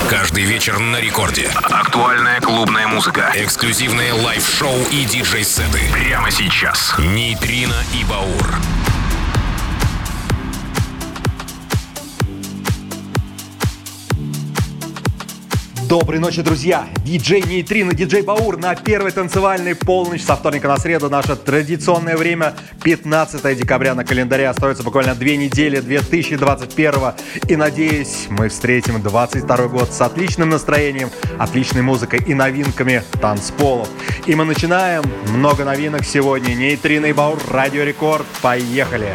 Каждый вечер на рекорде. Актуальная клубная музыка. Эксклюзивные лайв-шоу и диджей-сеты. Прямо сейчас. Нейтрино и Баур. Доброй ночи, друзья! Диджей Нейтрино, диджей Баур на первой танцевальной полночь со вторника на среду. Наше традиционное время 15 декабря на календаре. Остается буквально 2 недели 2021. И надеюсь, мы встретим 22 год с отличным настроением, отличной музыкой и новинками танцполов. И мы начинаем. Много новинок сегодня. Нейтрино и Баур, Радио Рекорд. Поехали!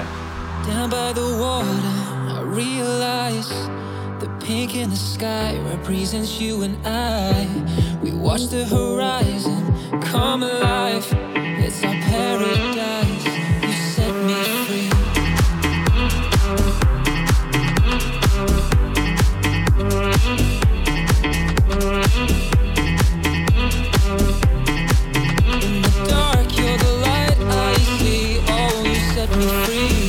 Pink in the sky represents you and I. We watch the horizon come alive. It's our paradise. You set me free. In the dark, you're the light I see. Oh, you set me free.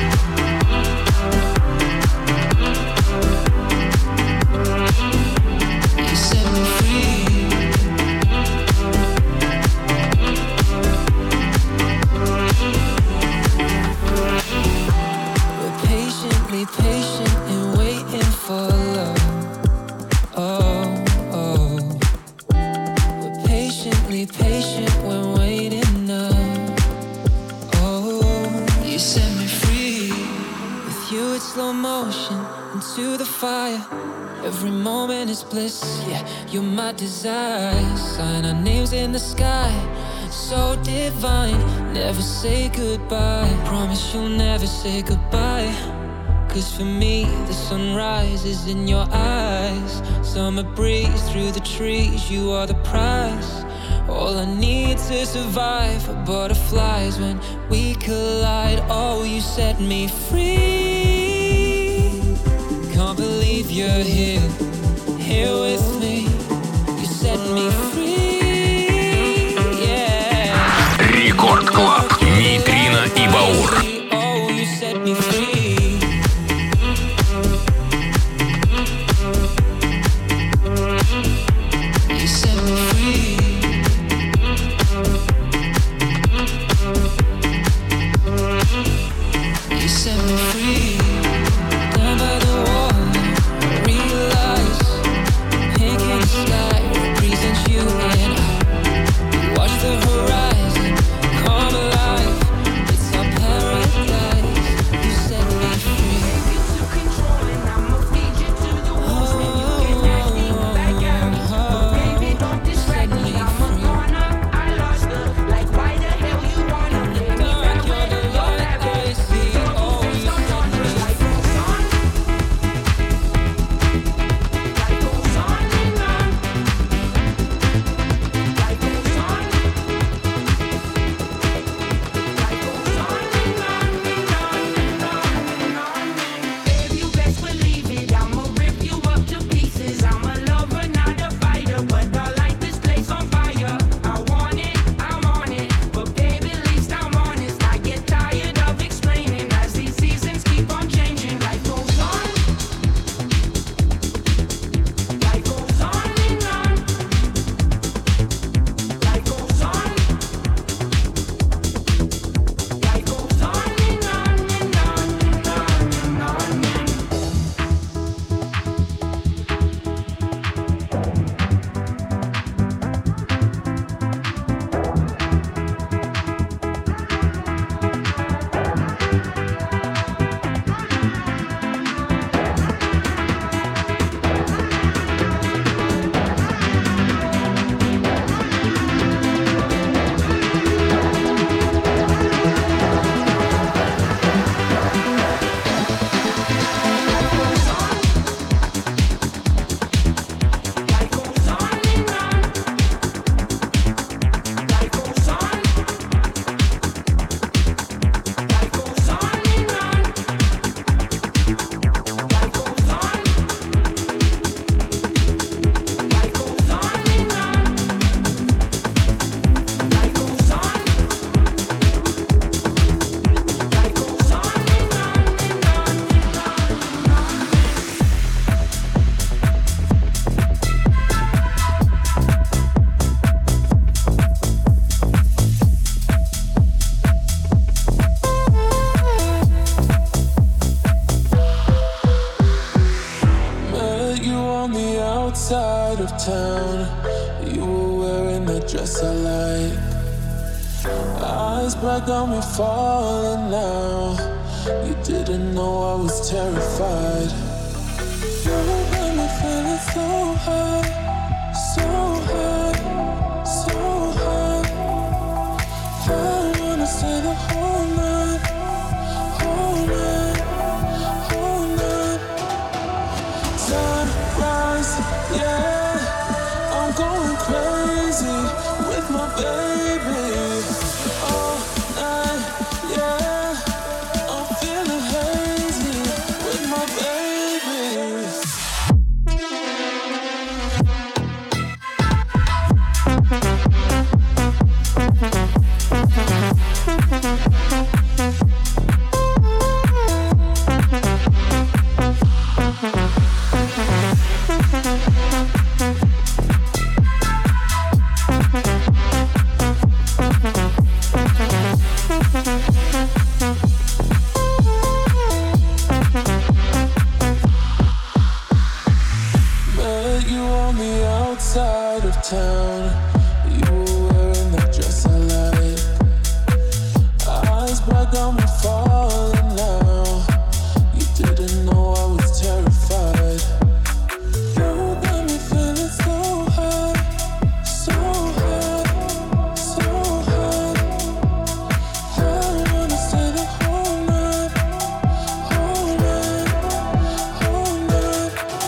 Patient and waiting for love. Oh, oh. We're patiently patient when waiting up. Oh, you set me free. With you it's slow motion into the fire. Every moment is bliss, yeah, you're my desire. Sign our names in the sky, so divine. Never say goodbye, promise you'll never say goodbye. 'Cause for me, the sunrise is in your eyes. Summer breeze through the trees, you are the prize. All I need to survive are butterflies when we collide. Oh, you set me free. Can't believe you're here, here with me. You set me free, yeah. Рекорд Клаб. Нейтрино и Баур. Oh, you set me free. You outside of town. You were wearing that dress I like. Eyes bright got me falling now. You didn't know I was terrified. You got me feeling so high, so high, so high. I wanna stay the whole night, whole night, whole night. Sunrise, yeah, I'm going crazy with my baby. All night, yeah, I'm feeling hazy with my baby. Met you on the outside of town. You were wearing that dress I like. Eyes bright got me falling now. You didn't know I was terrified. You got me feeling so high, so high, so high. I wanna stay the whole night, whole night, whole night.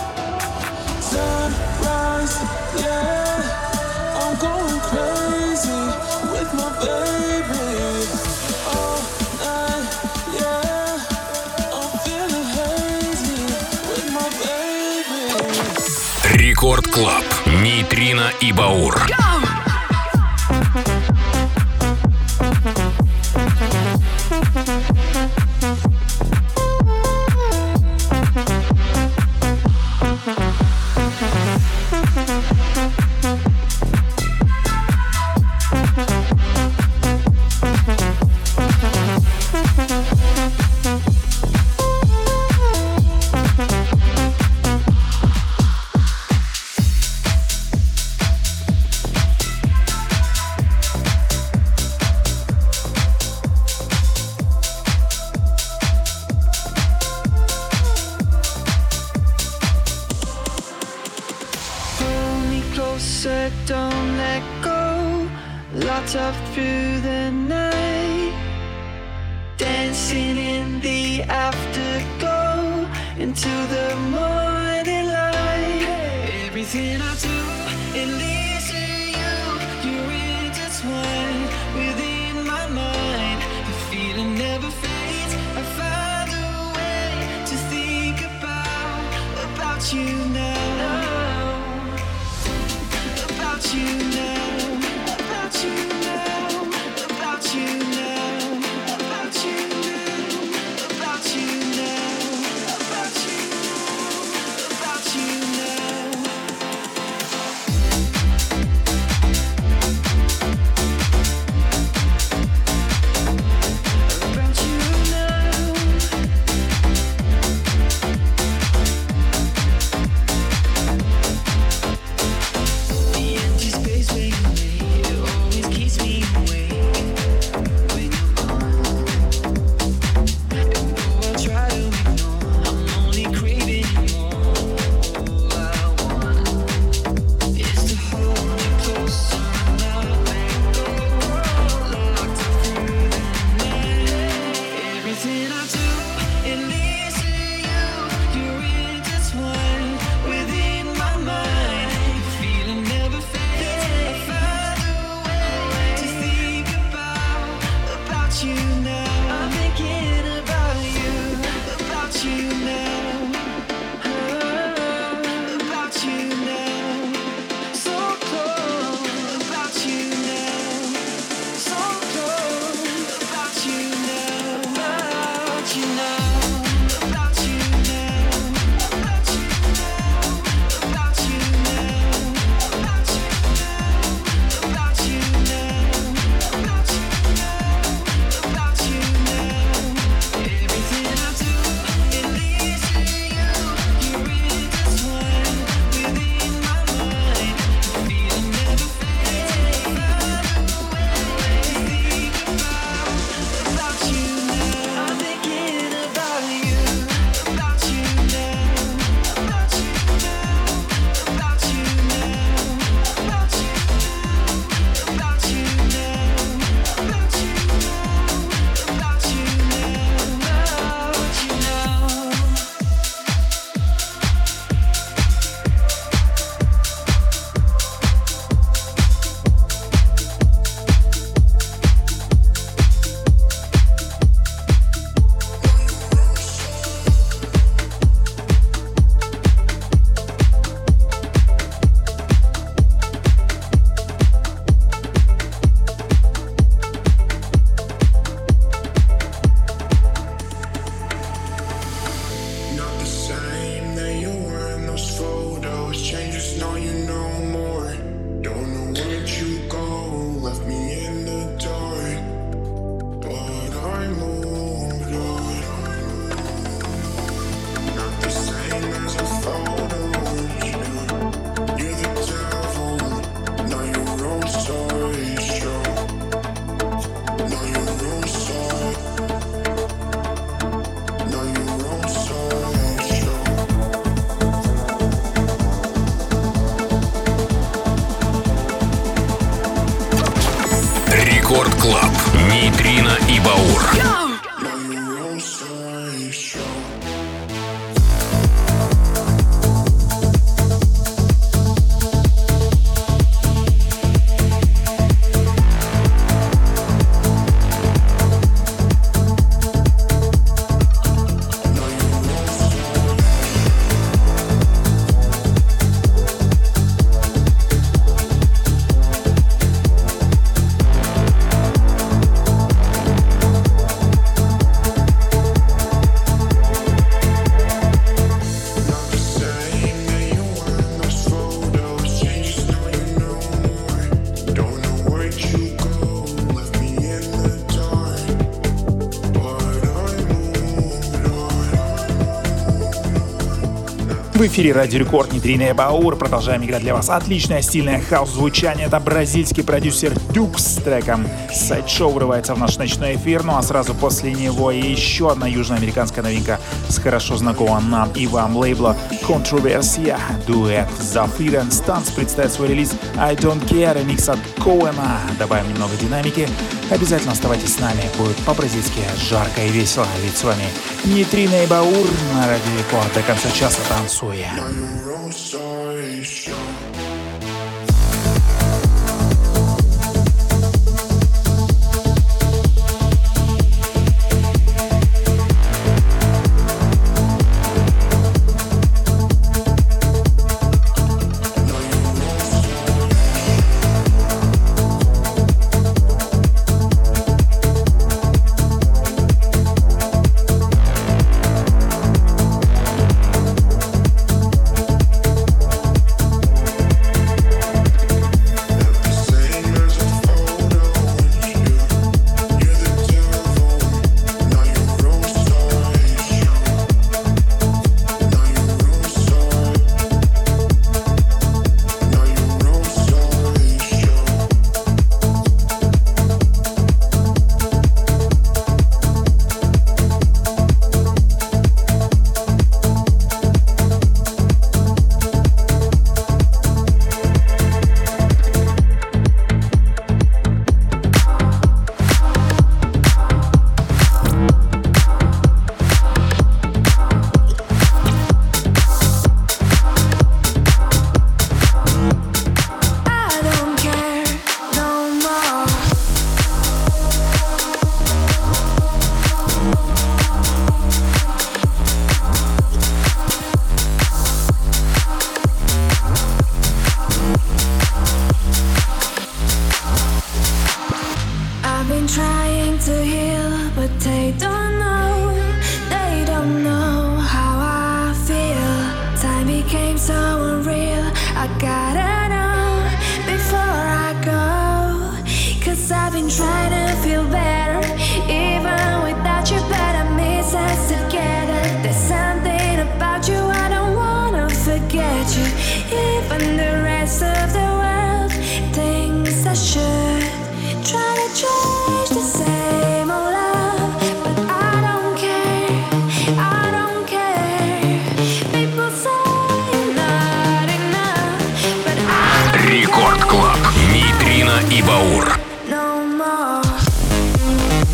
Sunrise, yeah, I'm going crazy with my baby. All night, yeah, I'm feeling hazy with my baby. Рекорд Клаб. Нейтрино и Баур. Pull me closer, don't let go. Lights up through the night, dancing in the afterglow into the morning light. Everything I do, it leads to you. You're intertwined within my mind. The feeling never fades. I find a way to think about you now. About you now, about you now, about you now, about you now, about you now, about you, about you now. About you now. Рекорд Клаб. Нейтрино и Баур. В эфире Радио Рекорд, Нейтрино и Баур. Продолжаем играть для вас отличное стильное хаус-звучание. Это бразильский продюсер Дюкс с треком «Сайдшоу» врывается в наш ночной эфир. Ну а сразу после него еще одна южноамериканская новинка с хорошо знакомым нам и вам лейбла Controversia. Дуэт Zafir and Stans представит свой релиз I Don't Care, ремикс от Коэна. Добавим немного динамики. Обязательно оставайтесь с нами, будет по-бразильски жарко и весело. Ведь с вами Нейтрино и Баур на Радио Рекорд. До конца часа танцуем. Рекорд Клаб. Нейтрино и Баур. No more.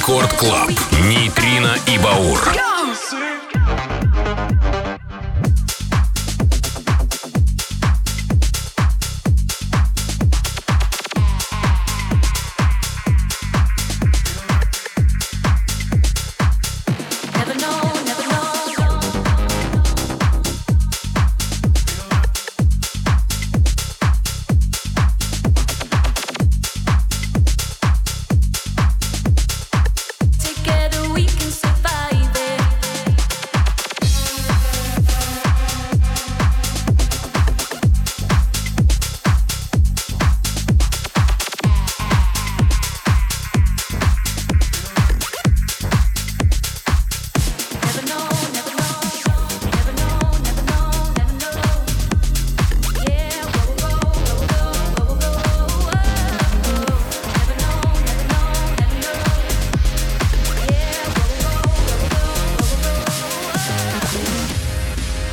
Рекорд Клаб. Нейтрино и Баур. Together we can survive it. Never know, never know, never know, never know, never know. Yeah, where we'll go, where we'll go, where we'll go. Never know, never know, never know. Yeah, where we'll go, where we'll go, where we'll go.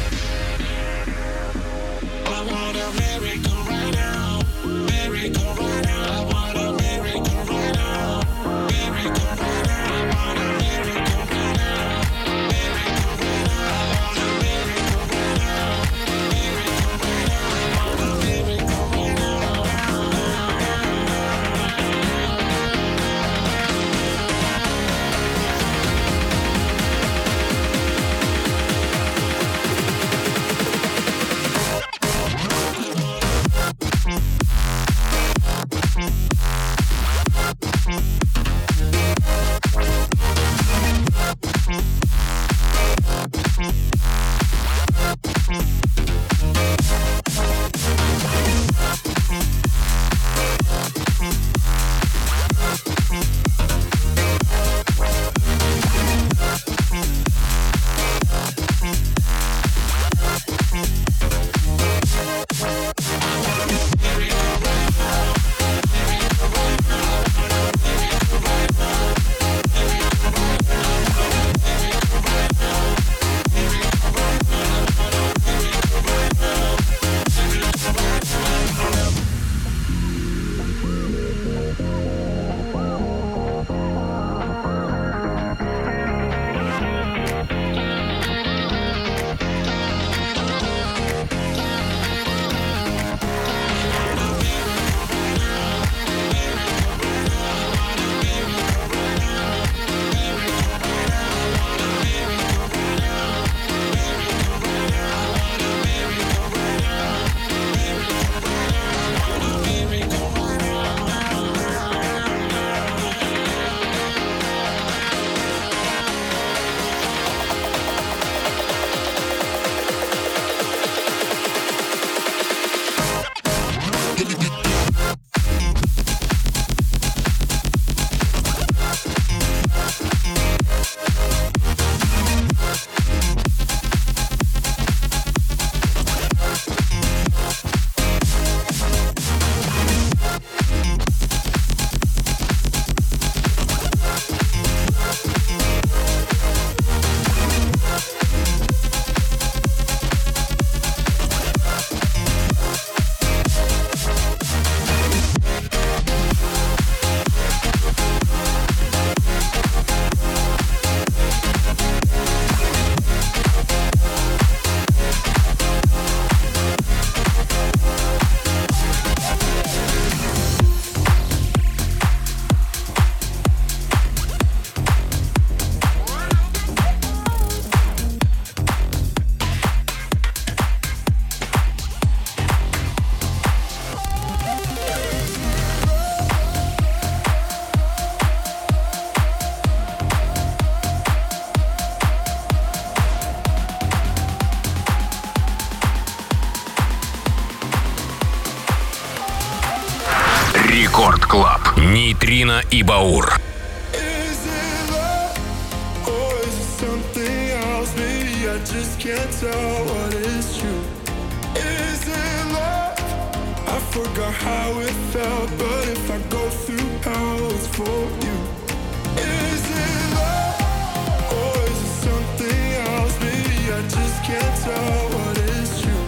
Рекорд Клаб. Нейтрино и Баур. Is it love or is it something else? Maybe I just can't tell what is true. Is it love? I forgot how it felt, but if I go through hell, it's for you. Is it love or is it something else? Maybe I just can't tell what is true.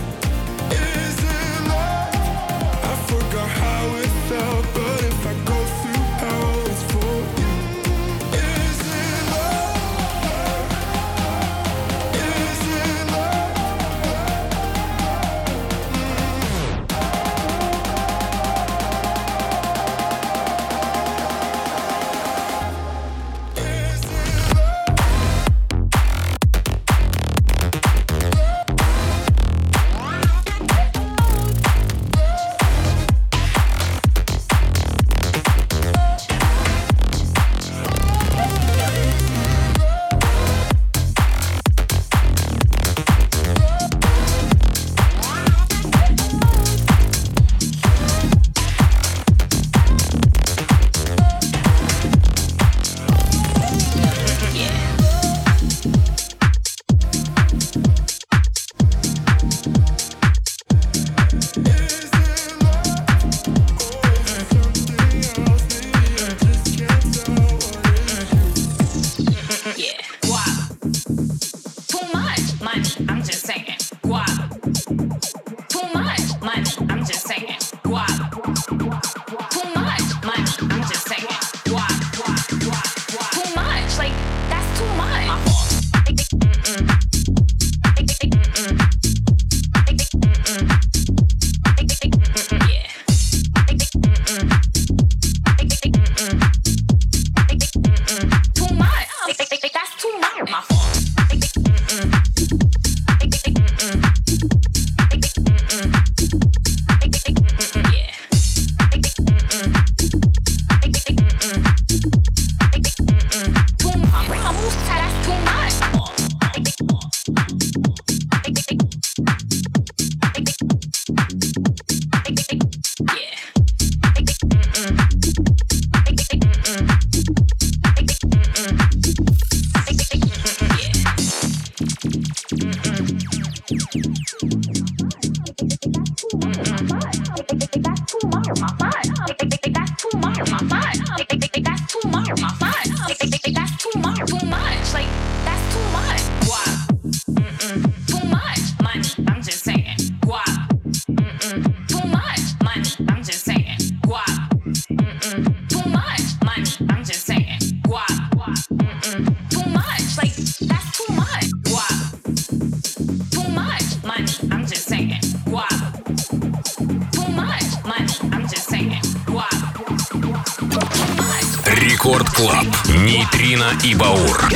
Is it love? I forgot how it felt, but if I go through hell, it's for you. Рекорд Клаб. Нейтрино и Баур.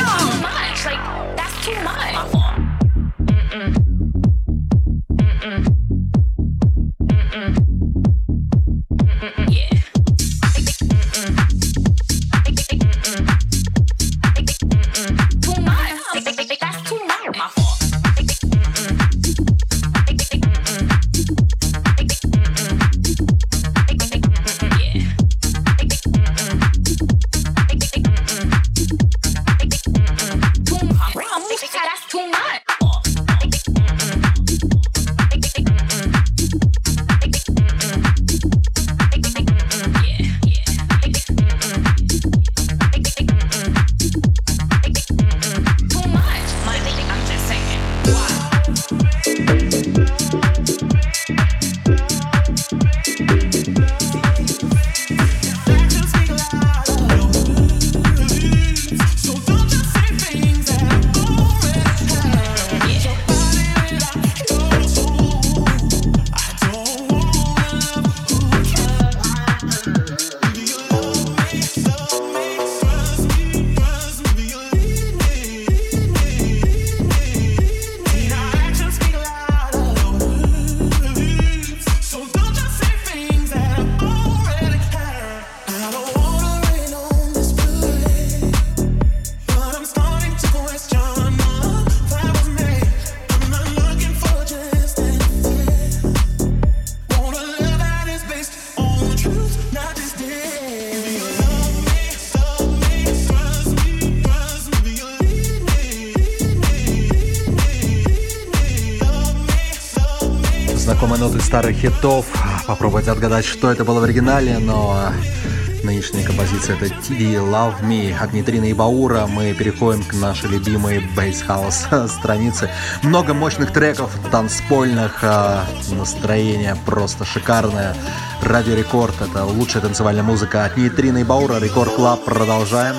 Знакомые ноты старых хитов. Попробуйте отгадать, что это было в оригинале, но нынешняя композиция — это TD Love Me от Нейтрино и Баура. Мы переходим к нашей любимой бейс-хаус странице. Много мощных треков, танцпольных, настроение просто шикарное. Радио Рекорд — это лучшая танцевальная музыка от Нейтрино и Баура. Рекорд Клаб. Продолжаем.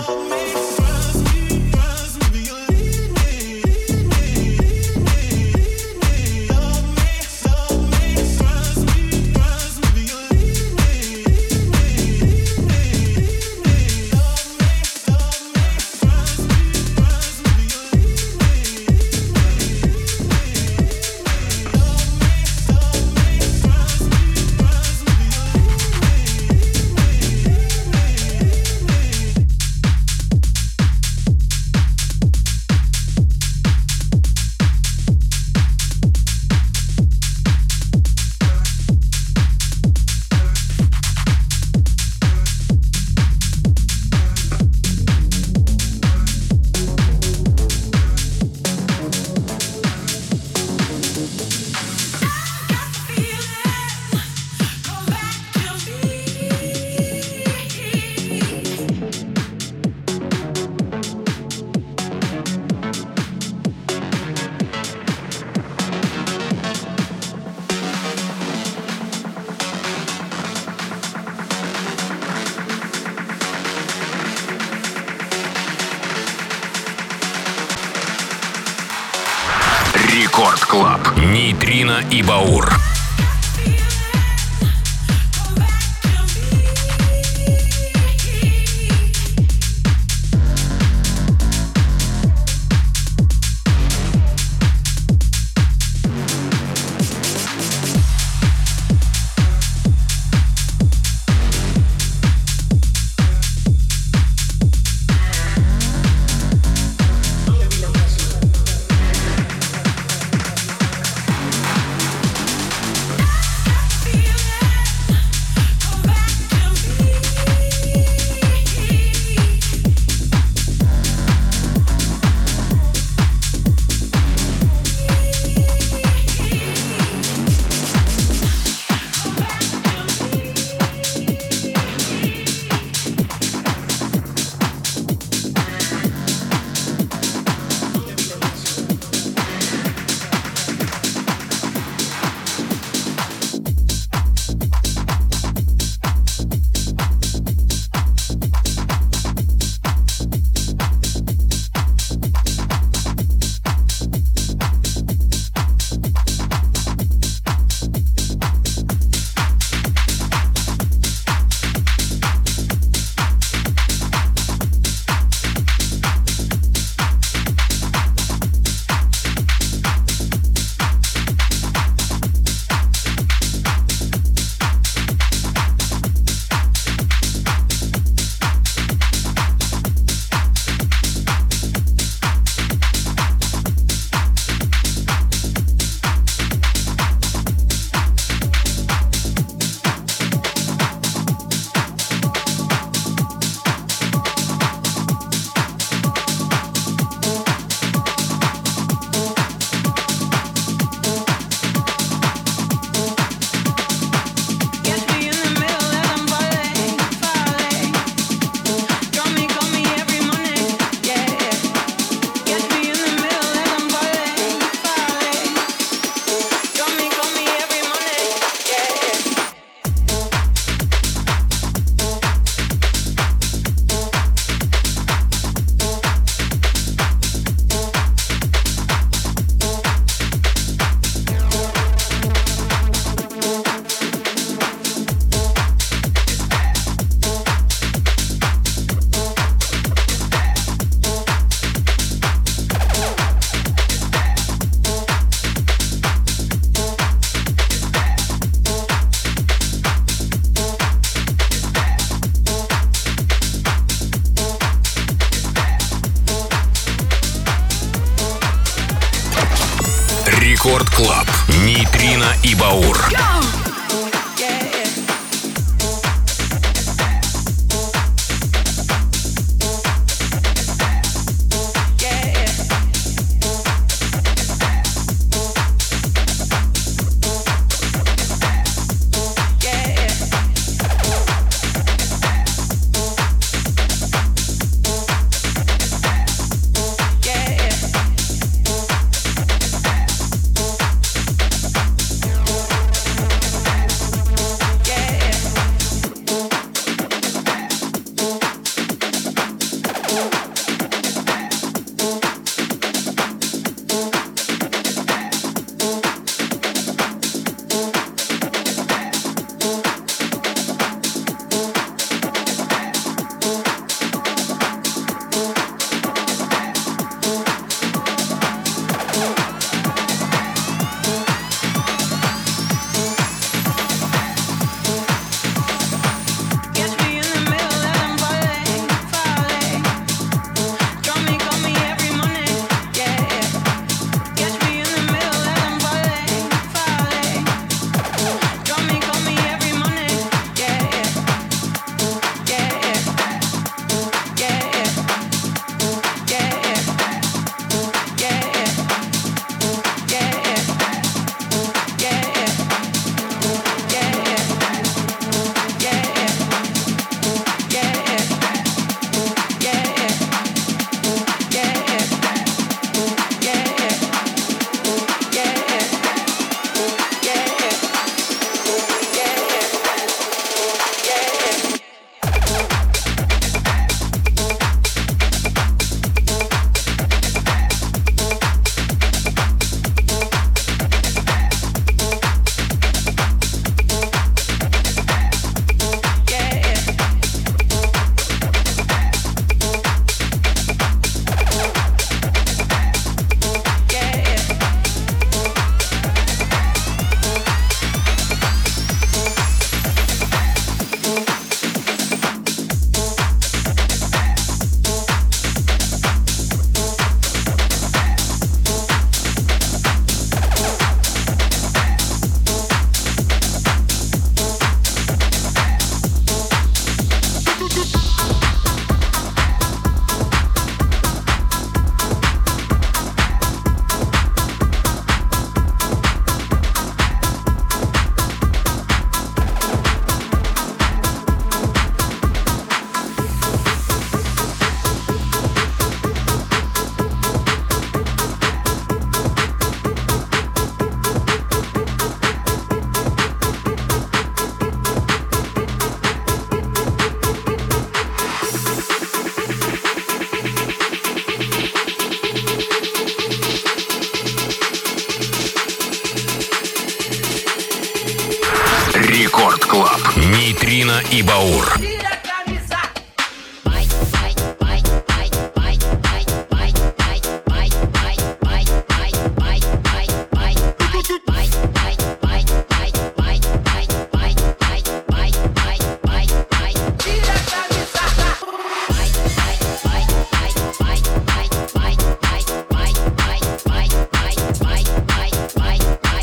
Рекорд Клаб. Нейтрино и Баур. и Баур. Рекорд Клаб. Нейтрино и Баур.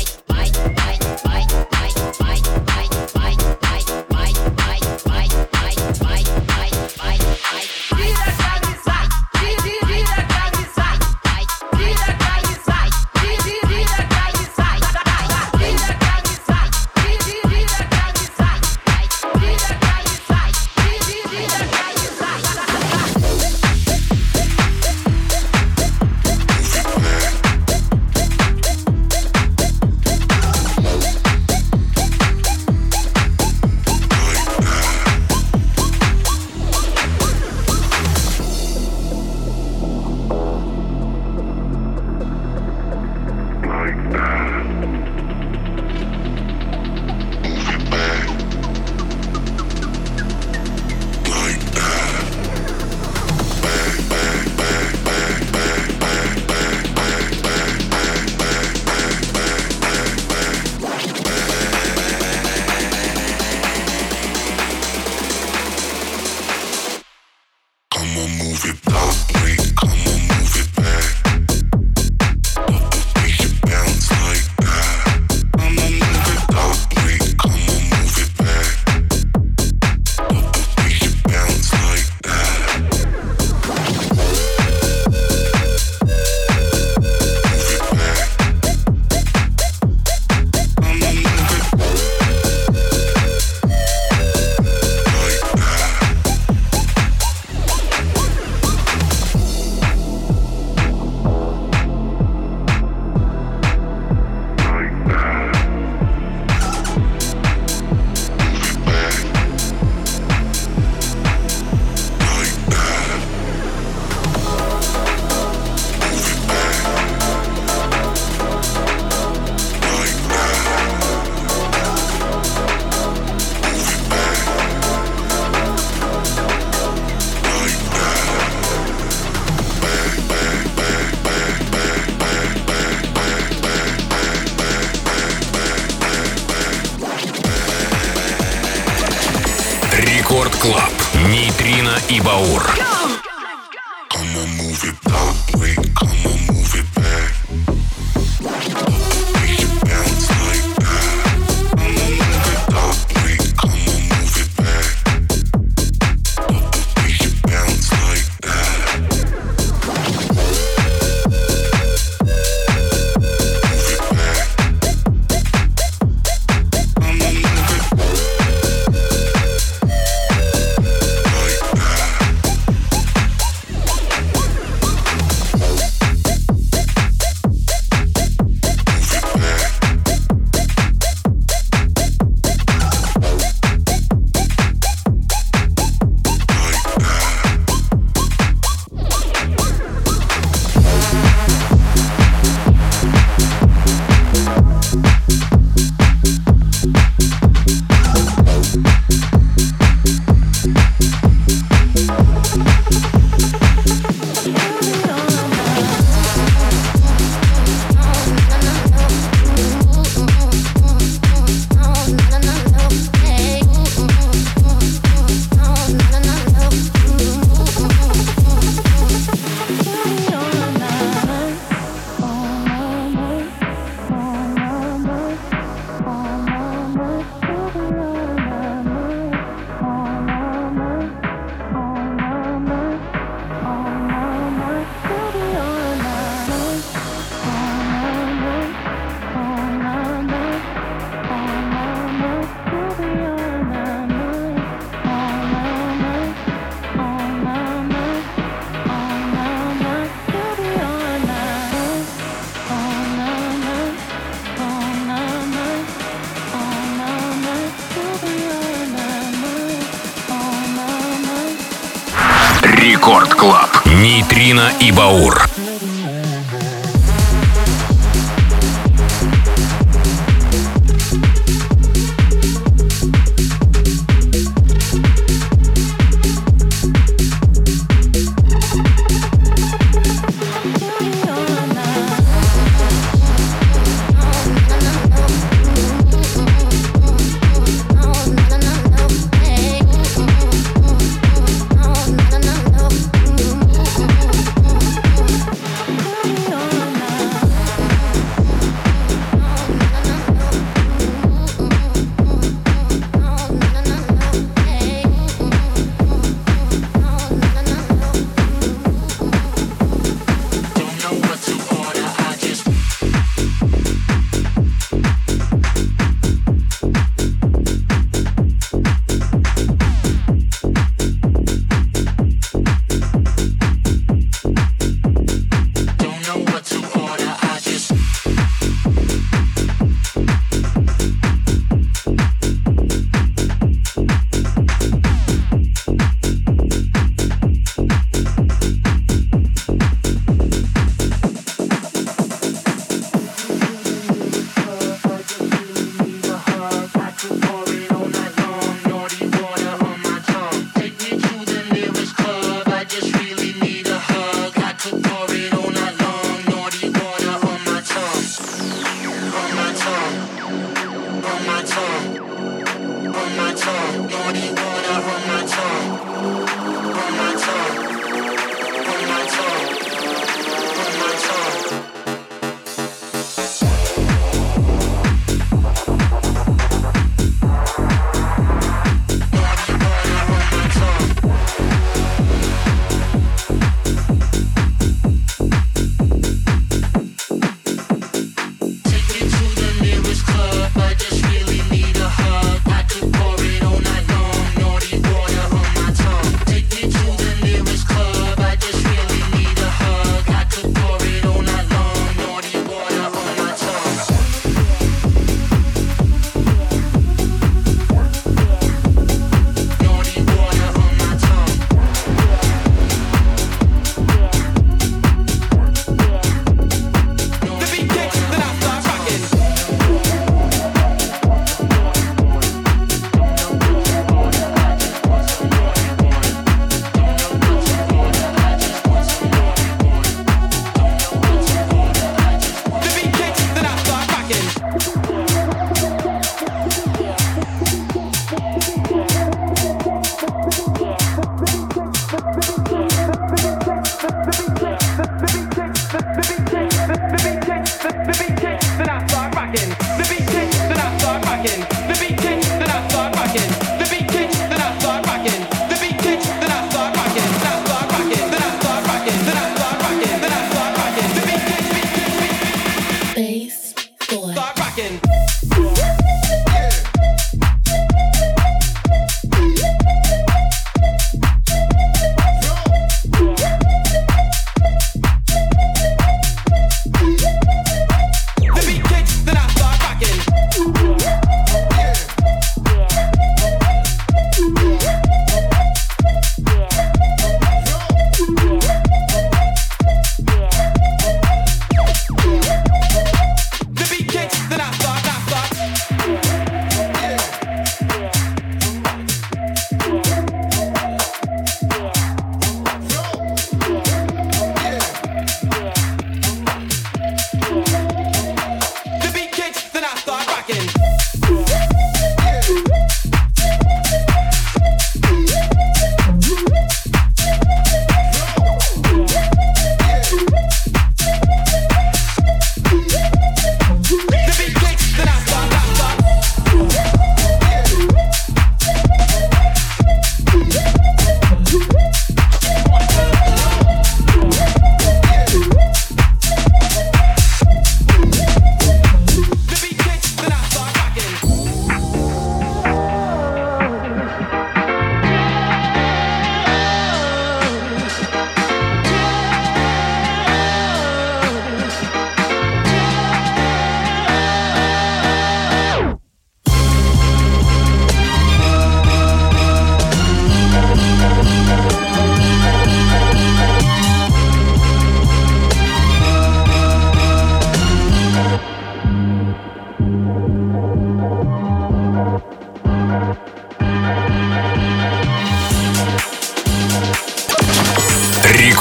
Bye. Рекорд Клаб. Нейтрино и Баур. Come on, move it that way. Come on, move it back. Make it bounce like that. Come on, move it that way. Come on, move it back. Make it bounce like that. Move it back. Come on, move it like that. Рекорд Клаб. Нейтрино и Баур.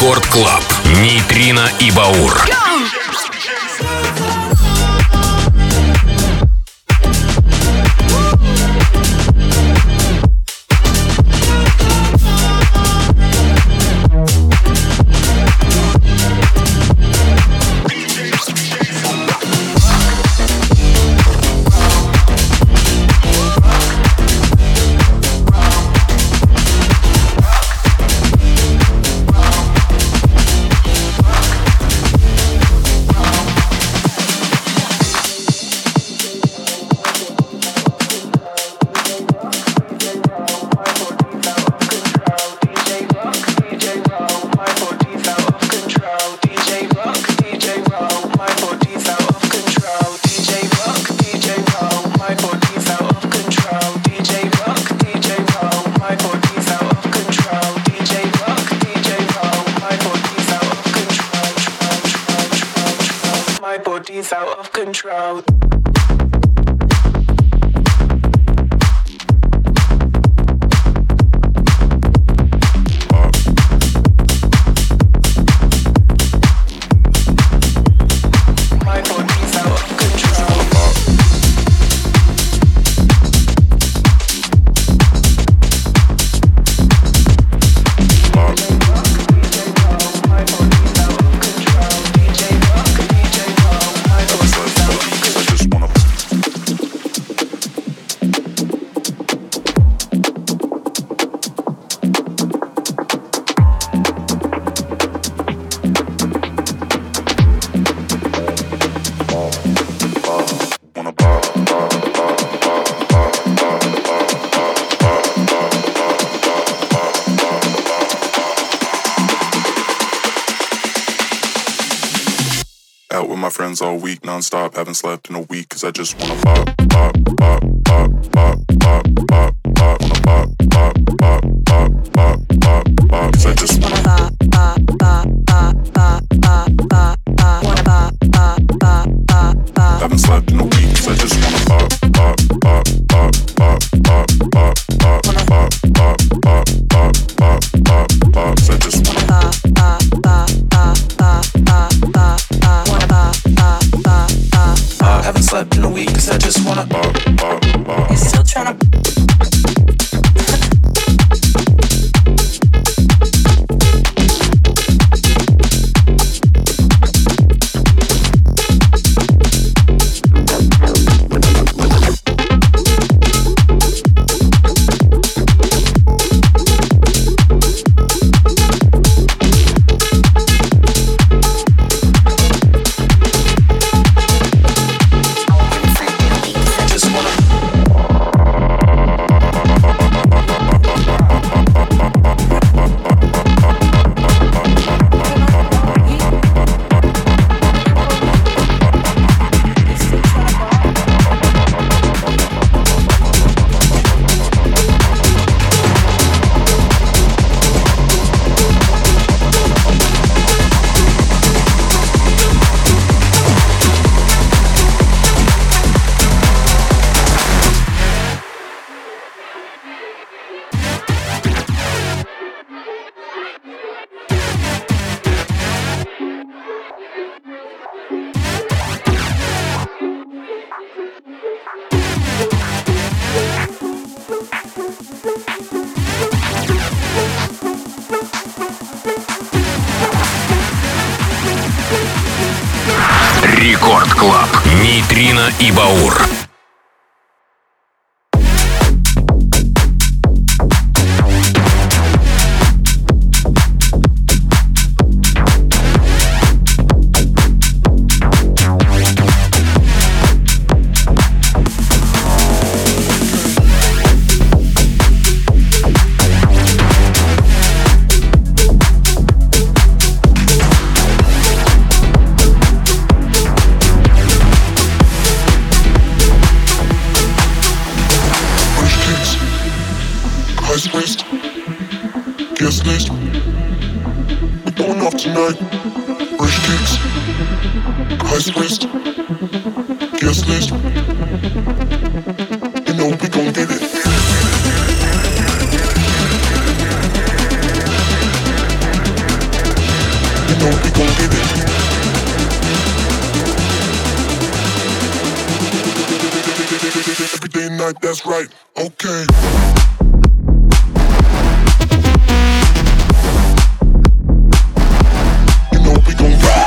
Рекорд Клаб. Нейтрино и Баур. Out of control. All week, non-stop, haven't slept in a week, cause I just wanna pop, pop, pop, pop, pop, pop, pop, pop, wanna pop, pop, pop, pop, pop, pop, pop, cause I just wanna pop, pop, pop, pop, pop, pop, pop, pop, wanna pop, pop, pop, pop, pop, haven't slept in a week, cause I just wanna pop, pop, pop, pop, pop, pop, pop, pop, wanna pop, pop, pop, pop, pop, pop, pop, cause I just wanna pop, pop, pop, pop, pop, pop, pop, pop, wanna pop. Haven't slept in a week cause I just wanna pop, pop, pop. You still tryna Рекорд Клаб. Нейтрино и Баур. Guest list, we're going off tonight. Fresh kicks, high wrist, guest list. You know we gon' get it. night, that's right, okay. You know we gon' rock.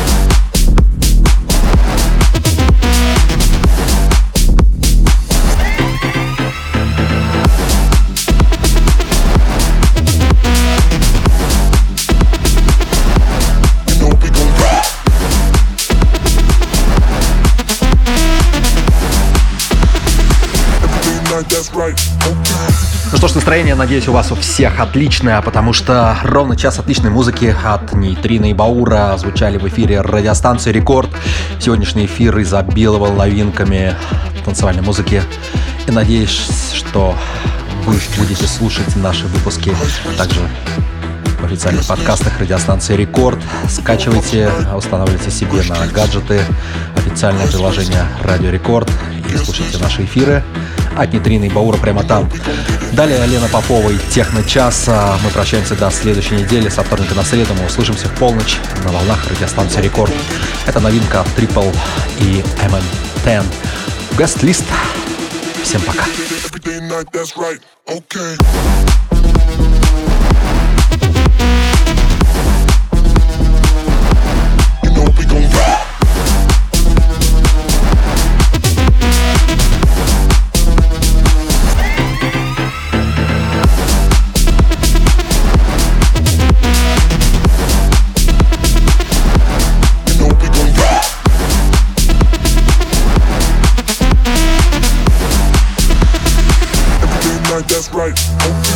Ну что ж, настроение, надеюсь, у вас у всех отличное, потому что ровно час отличной музыки от Нейтрина и Баура звучали в эфире радиостанции «Рекорд». Сегодняшний эфир изобиловал новинками танцевальной музыки. И надеюсь, что вы будете слушать наши выпуски также в официальных подкастах радиостанции «Рекорд». Скачивайте, устанавливайте себе на гаджеты официальное приложение «Радио Рекорд» и слушайте наши эфиры от Нейтрина и Баура прямо там. Далее Лена Попова и Техно-час. Мы прощаемся до следующей недели. Со вторника на среду мы услышимся в полночь на волнах радиостанции «Рекорд». Это новинка от Triple и MN10. Гест-лист. Всем пока. That's right, okay.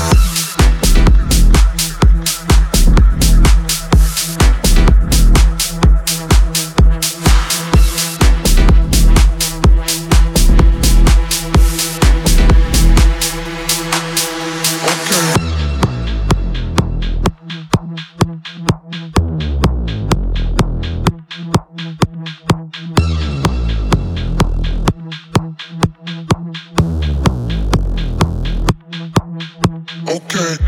Okay.